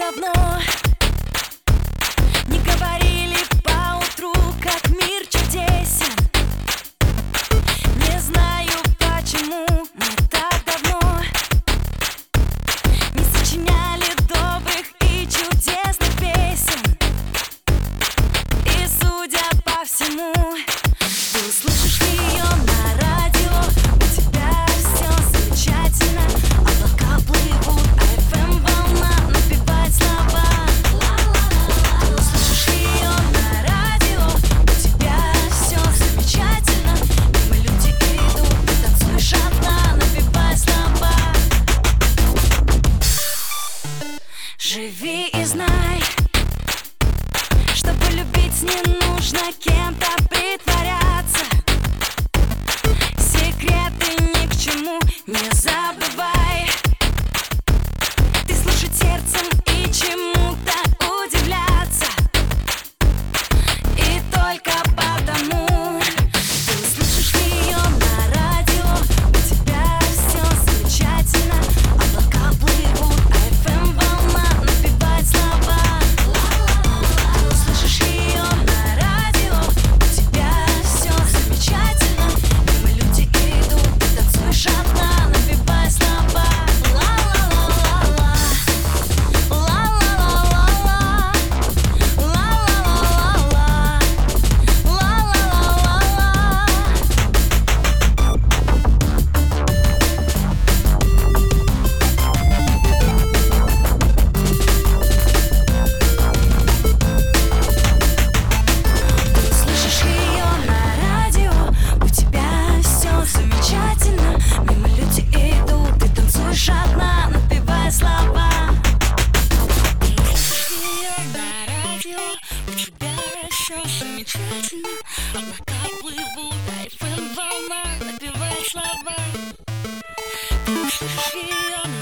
давно не говорили поутру, как мир чудесен. Не знаю, почему мы так давно не сочиняли добрых и чудесных песен. И судя по всему, ты услышишь ее на радио. У тебя все замечательно, облака плывут, а FM волна напевает слова. Ты услышишь ее на радио. У тебя все замечательно, мимо люди идут, ты танцуешь одна, напевая слова. Живи и знай, чтобы любить не нужно кем-то притворяться. Секреты ни к чему не забывай. Ты слушать сердцем и чему-то удивляться. И только потому ты услышишь ее на радио. У тебя все замечательно, облака плывут, а FM волна напевает слова. Ты услышишь ее на радио. У тебя все замечательно, мимо люди идут, ты танцуешь одна, напевая слова. Слышишь ее на радио, у тебя все замечательно, мимо люди идут, ты танцуешь одна, напевая слова. Слышишь ее на радио, у тебя все замечательно, облака плывут, а FM волна напевает слова. Ты слышишь ее